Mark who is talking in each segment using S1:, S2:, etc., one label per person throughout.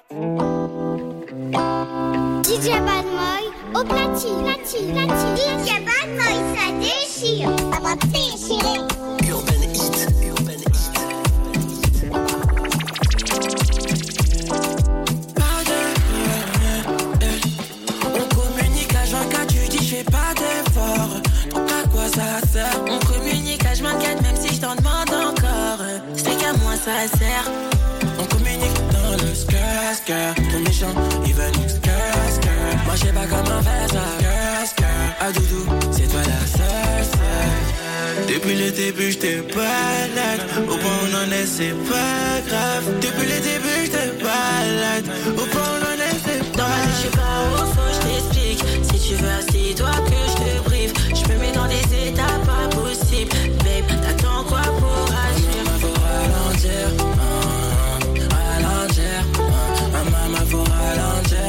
S1: DJ Bad Boy au platine. DJ Bad Boy, ça déchire. Ça va déchirer.
S2: Urban Hit. On communique à H24, tu dis je fais pas d'effort. Donc à quoi ça sert? On communique à H24 même si je t'en demande encore. C'est qu'à moi ça sert. On communique dans le skirt. Ton méchant, il veut nous skirt. Moi j'ai pas comment faire ça. Ah doudou, c'est toi la seule. Depuis le début j'étais balade. Au point où on en est c'est pas grave. Depuis le début j'étais balade. Au point où on en est c'est pas grave. Dans ma vie je sais pas où faut je t'explique. Si tu veux assis-toi que je te brief. Je me mets dans des états pas possibles. Babe, t'attends quoi pour agir? Faut ralentir. Maman faut ralentir.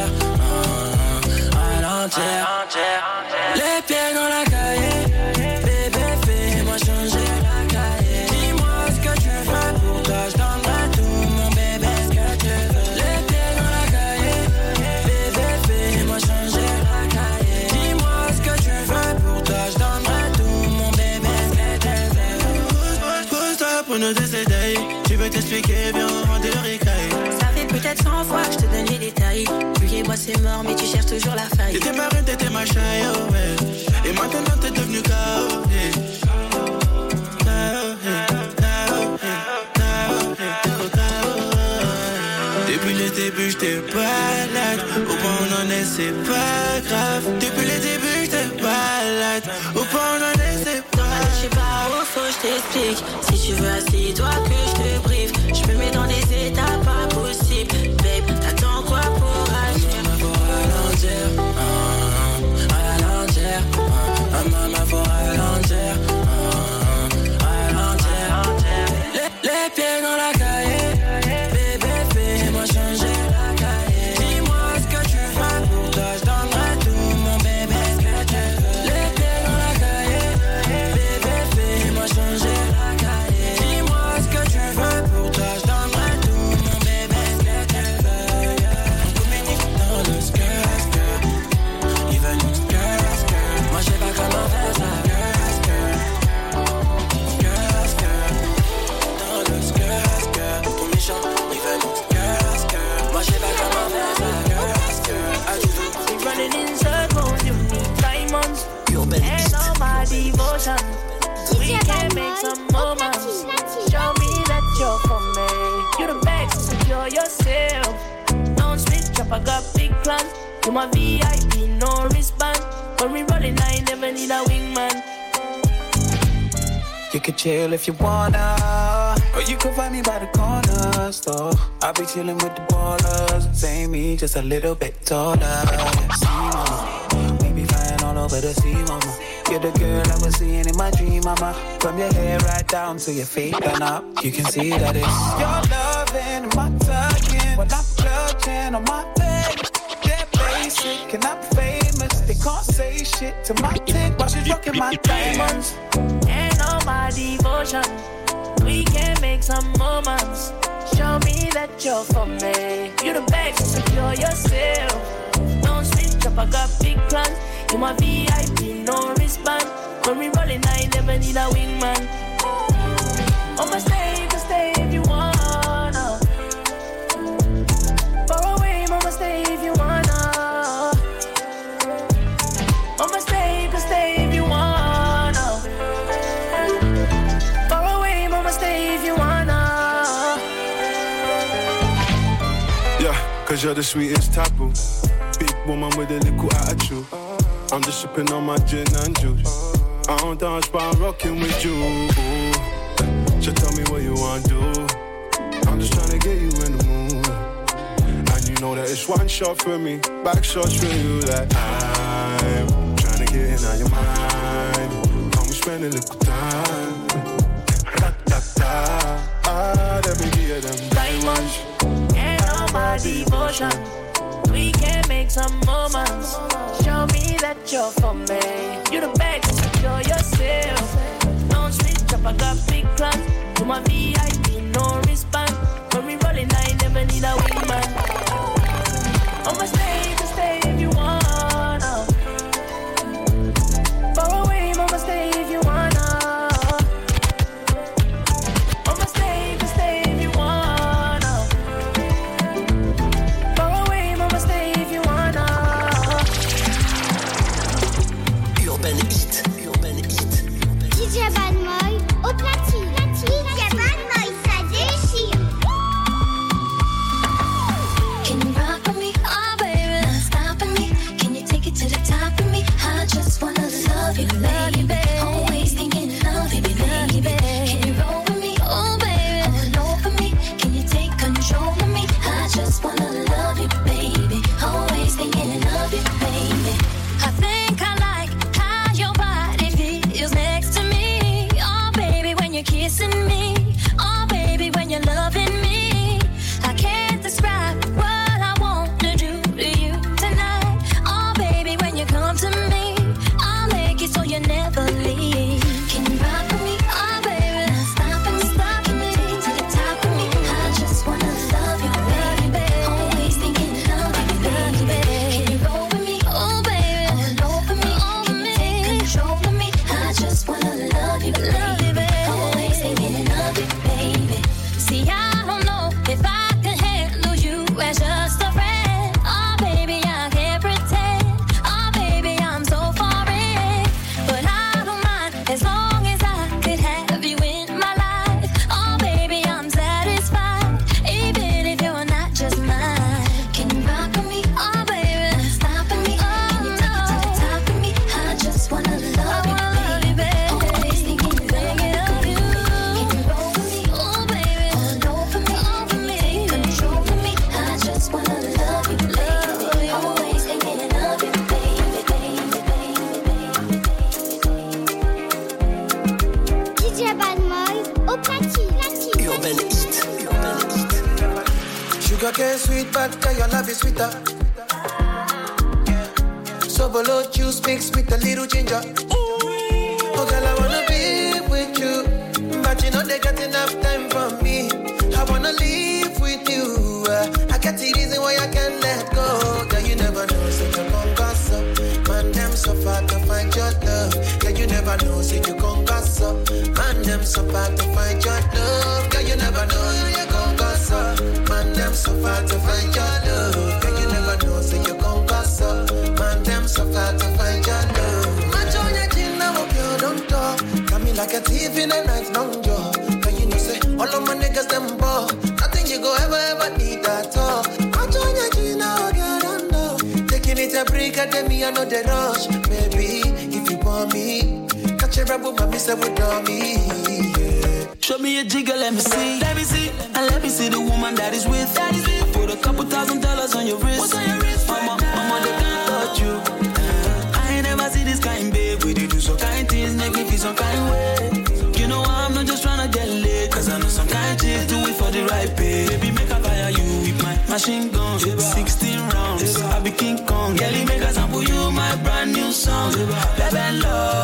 S2: Les pieds dans la cahier. Bébé fais-moi changer la cahier. Dis-moi ce que tu veux. Pour toi je donnerai tout mon bébé ce que tu veux. Les pieds dans la cahier. Bébé fais-moi changer la cahier. Dis-moi ce que tu veux. Pour toi je donnerai tout mon bébé ce que tu veux. Pose-toi pour nous décéder. Tu veux t'expliquer, viens on rend de ricaille. Peut-être 100 fois que je te donne les détails. Lui et moi c'est mort mais tu cherches toujours la faille. T'étais ma reine, t'étais ma chaille, oh ouais. Et maintenant t'es devenu KO, hey. Depuis le début j'étais balade. Au point où on en est c'est pas grave. Depuis le début j'étais balade. Au point où on en est c'est pas grave. Je sais pas où faut je t'explique. Si tu veux assis-toi que je te brief. Je me mets dans des états pas possibles. Babe, t'attends quoi pour agir? Maman faut ralentir. Maman faut ralentir. Les pieds dans la cahier. Bébé fais-moi changer la cahier. Dis-moi ce que tu veux. Pour toi je donnerai tout mon bébé ce que tu veux. Les pieds dans la cahier. Bébé fais-moi changer la cahier. Dis-moi ce que tu veux. Pour toi je donnerai tout mon bébé ce que tu veux. On communique dans le skirt. Il veut nous skirt. Moi je sais pas comment faire ça.
S3: And all my devotion, we can make some moments. Show me that you're for me. You're the best, secure yourself. Don't switch up, I got big plans. You're my VIP, no wristband. When we rollin', I never need a wingman.
S4: You could chill if you wanna, or you could find me by the corner store. I'll be chillin' with the ballers. Same me, just a little bit taller. See, mama, we be flying all over the sea, mama. You're the girl I was seeing in my dream, mama. From your hair right down to your feet and up, you can see that it's your loving and my tugging. When I'm clutching on my leg, they're basic and I'm famous. They can't say shit to my dick while she's rocking my diamonds.
S3: And all my devotion, we can make some moments. Show me that you're for me. You're the best, secure yourself. Don't switch up, I got big plans. You're my VIP, no wristband. When we rollin', I never need a wingman. I'ma stay, you can stay if you wanna. Far away, I'ma stay if you wanna. I'ma stay, you can stay if you wanna. Far away, I'ma stay if you wanna.
S5: Yeah, cause you're the sweetest taboo. Big woman with a little attitude. I'm just sipping on my gin and juice. I don't dance but I'm rocking with you. So tell me what you wanna do. I'm just trying to get you in the mood. And you know that it's one shot for me, back shots for you. Like I'm trying to get in on your mind. Come spend a little time. Da da da. Let me give you them
S3: diamonds. And all my devotion, we can make some moments. Show me that you're for me. You're the best, secure yourself. Don't switch up, I got big plans. You're my VIP, no wristband. When we rollin', I never need a wingman.
S6: Sugarcane sweet, but your love is sweeter. So below juice mixed with a little ginger. Oh girl, I wanna be with you, but you know they got enough time for me. I wanna live with you. I got the reason why I can't let go. Girl, you never know, so you gon' goss up. Man, them so far to find your love. Girl, you never know, so you gon' goss up. Man, them so far to find your love. Girl, you never know, you gon' goss up. Man, them so far to find your love. Girl, you never know, so you gon' goss up. Man, them so far to find your love. Man, join your chin now, girl, don't talk. Got me like a thief in the night, long jaw. Girl, you know, say, all of my niggas, them ball. Nothing you go ever need at all. Man, join your chin now, girl, don't know. Taking it a break, at me, I know the rush. Baby, if you want me, catch a rebel, my miss with me.
S2: Show me a jigger, let me see. Let me see. And let me see the woman that is with. I put a couple $1,000 on your wrist. What's on your wrist? Mama, they can't touch you. I ain't never see this kind, babe. We do some kind things, make me feel some kind way. You know I'm not just tryna get laid. Cause I know some kind chicks do it for the right pay. Baby, make I fire you with my machine gun. 16 rounds, I be King Kong. Girlie, make I sample you my brand new song. Baby,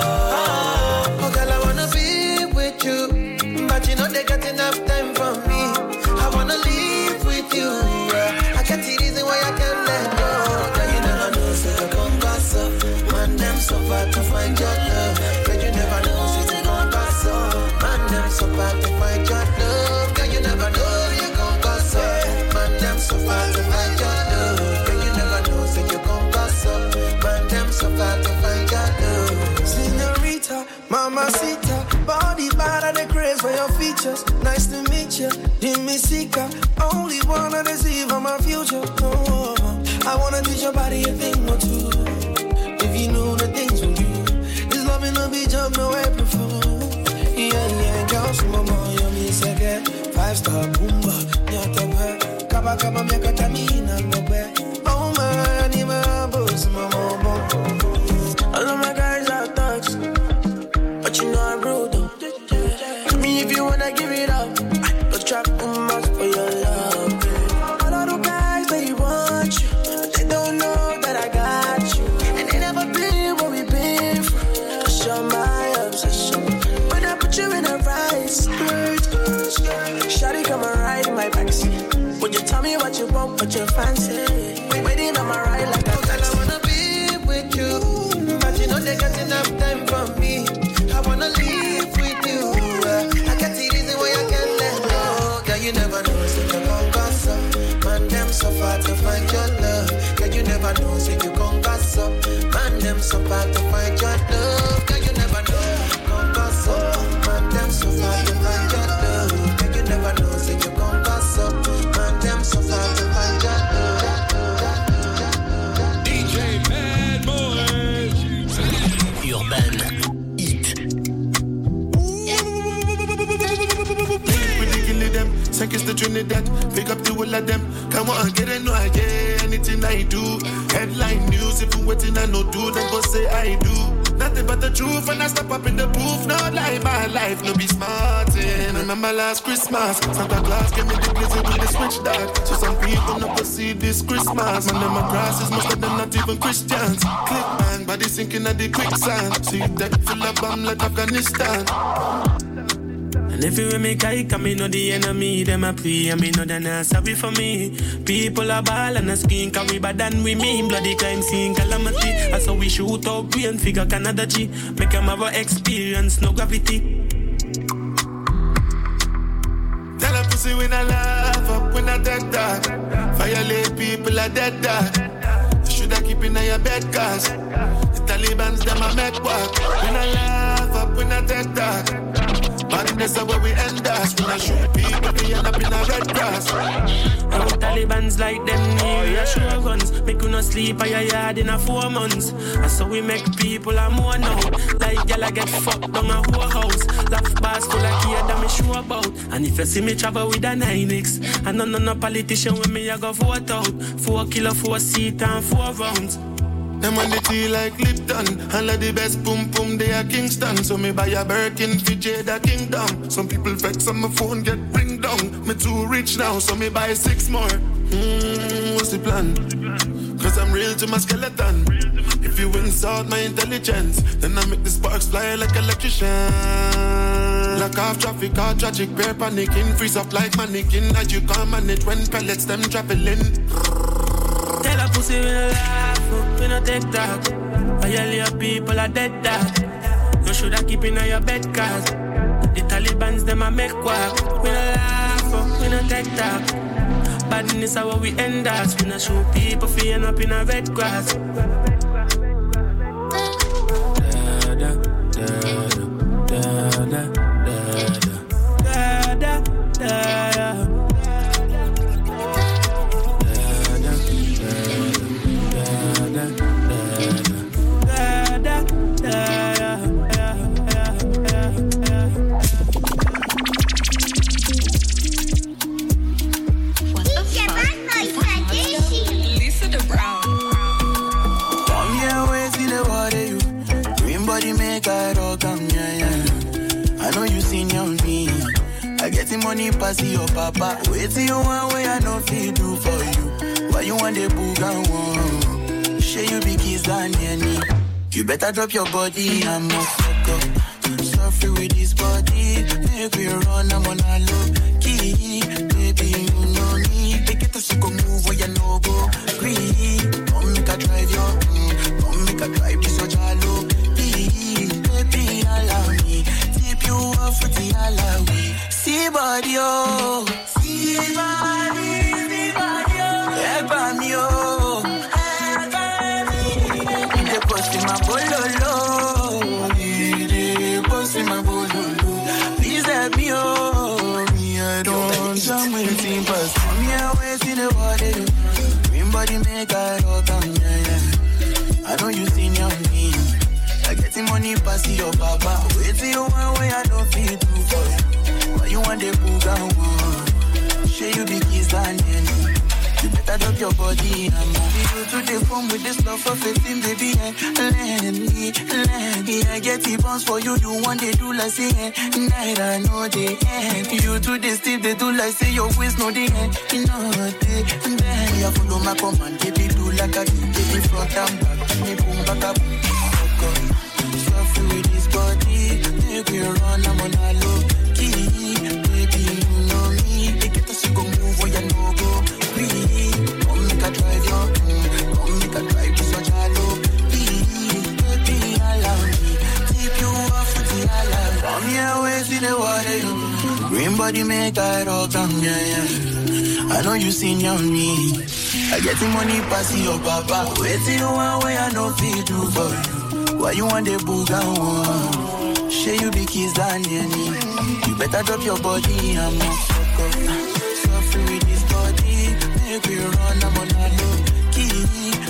S2: love.
S6: Oh, girl, I wanna be with you, but you know they got enough time for me. I wanna live with you. I got the reason why I can't let go. Girl, you never know, so you gon' goss up. Man, them so far to find your love. Girl, you never know, so you gon' goss up. Man, them so far to find your love. Girl, you never know, you gon' goss up. Man, them so far to find your love. Girl, you never know, so you gon' goss up. Man, them so far to find your love. Señorita, mamacita, body bad and the craze for your features. Nice to meet you, Jimmy Sika. Only wanna deceive on my future. Oh, I wanna teach your body a thing or two. If you know the things we do, this love in the beach of no April Fool. Yeah, girl, some mama, you me second. 5-star boomba, nyatabe. Kaba, miaka tamina, nobe. Oh my, I need my boss, mama, all of my guys are thugs, but you know I'm rude though. I mean, if you wanna give it up, go trap much for your love. All of the guys, they want you, but they don't know that I got you. And they never been what we've been through. That's my obsession. When I put you in a right skirt, shawty come and ride in my backseat. Would you tell me what you want, what you fancy? Waiting on my ride like a taxi. I wanna be with you, but you know they got enough time for me. I wanna live with you. I got the reason why I can't let go. Girl, you never know, so you gon' goss up. Man, them so far to find your love. Girl, you never know, so you gon' goss up. Man, them so far to find your love. Girl, you never know, you gon' goss up. Man, them so far to find your love. Girl, you never know, so you gon' goss up. Man, them so far to find your love.
S5: DJ Mad Boy
S7: Urban Hit.
S5: Ridiculous them, second to Trinidad. Pick up the whole of them. Come on, get it, no, I get anything I do. Headline news, if you waiting, I no do, then go say I do. Nothing but the truth, and I step up in the booth. No lie, my life, no be smartin'. Remember last Christmas, Santa Claus gave me the blizzard with the switch dog. So some people not go see this Christmas. Man, them crosses, most of them not even Christians. Click bang, body sinking at the quicksand. See that full of bomb like Afghanistan.
S3: And if you make I come, me know the enemy, them a pray, and me know they're not sorry for me. People are ball and a skin, cause we bad than we mean. Bloody crime scene, calamity. That's how we shoot out brain, figure Canada G. Make them have a experience, no gravity.
S5: Tell a pussy when I laugh up, when I dead dog. Violate people are dead dog. You shoulda keep in your bed, cause the Taliban's them a make walk. When I laugh up, when I dead dog. Madness is where we end us. When I shoot people, we end up in a red grass.
S3: Our Taliban's like them near your sure guns. Make you not sleep at your yard in a 4 months. And so we make people a more now. Like y'all get fucked down a whole house. Laugh bars full of kids that me sure about. And if you see me travel with a 9X, and no politician with me, I go vote out. 4 kilo, 4 seat and 4 rounds.
S5: Them on the tea like Lipton. All of the best pum they are Kingston. So me buy a Birkin for Jada Kingdom. Some people vex on my phone get bring down. Me too rich now, so me buy 6 more. plan. Cause I'm real to my skeleton. If you insult my intelligence, then I make the sparks fly like electrician. Lock off traffic, all tragic, bear panicking. Freeze up like mannequin, as you can't manage when pellets them traveling.
S3: Tell a pussy we no laugh, we no take talk. All your people are dead dog. You shoulda keep in your bed cause the Taliban's them a make quack. We no laugh, we no take talk. Badness how we end us. We no shoot people for end up in a red grass. Da da da da da da da da da.
S6: Money pass your papa. Wait till you want where I know feel do for you. Why you want the boogan one? Share you be kiss than any. You better drop your body and move fuck up. Suffer with this body. Make we run, I'm on a low key. Baby, you know me. They get us to go move where you know go. Breathe. Come make a drive your. Come make a drive this so jalo. Baby, allow me. Tip you off with the alawi. See body, oh. See body, oh. Eba mi, oh. They post in my bololo. They post in my bololo. Please help me, oh. Me, I don't jam with team pass. Come here, wait in the water. Green body make I rock on, yeah. I know you seen your me. I get the money pass your papa. Wait till you want where I don't feel too far. Why you want the boogan one? Share you be kiss and any. You better drop your body and move you to the phone with this love for 15, baby. Let me, I get the bounce for you. You want they do like say, night I know they end. You to the steep, they do like say your waist no they end. You know they then you follow my command, baby do like a baby front and back. Me boom back up, suffer with this body. Make me run, I'm on a low. Baby, you know me. They get us to go move where you know go. Come make a drive your. Come make a drive to such a low. Baby, allow me. Tip you off with the alarm. Come here, wait in the water. Green body make I rock on, yeah. I know you seen your me. I get the money pass your papa. Wait till you want where I know feel do for you. Why you want the boogan one? Share you be kiss than any. You better drop your body and move fuck up. Suffer with this body. Make we run, I'm on a low key.